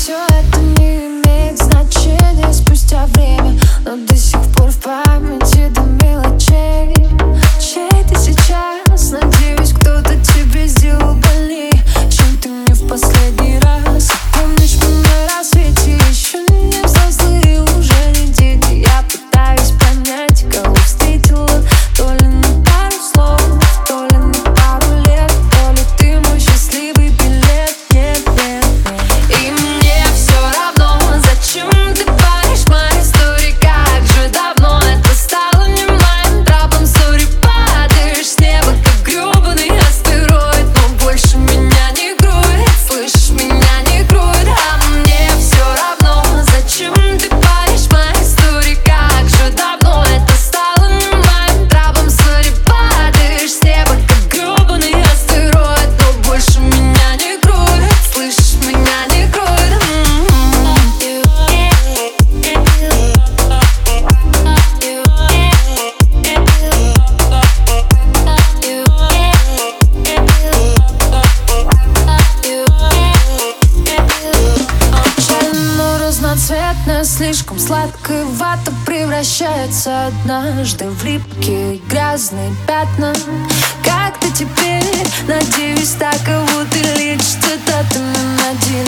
все это не имеет значения спустя время, но до сих пор в памяти до мелочей. Чей ты сейчас? Надеюсь, кто-то тебе сделал больнее, чем ты мне в последний раз. Помнишь, мы на рассвете еще не взрослые, уже не дети. Я пытаюсь понять, кого встретила, то ли на пару слов, то ли на пару лет, то ли ты мой счастливый билет. Нет, нет, нет. И мне все равно, зачем ты паришь мои истории, как же давно это стало не моим траблом. Сори, падаешь с неба, как гребаный астероид, но больше меня не кроет, слышишь, меня не кроет. А мне все равно, зачем ты паришь мои истории, как же давно это стало не моим траблом. Сори, падаешь с неба, как гребаный астероид, но больше меня не кроет, слышишь, меня не кроет. Но разноцветная, слишком сладкая вата превращается однажды в липкие грязные пятна. Как ты теперь? Надеюсь, так кого ты лечишь цитатами на один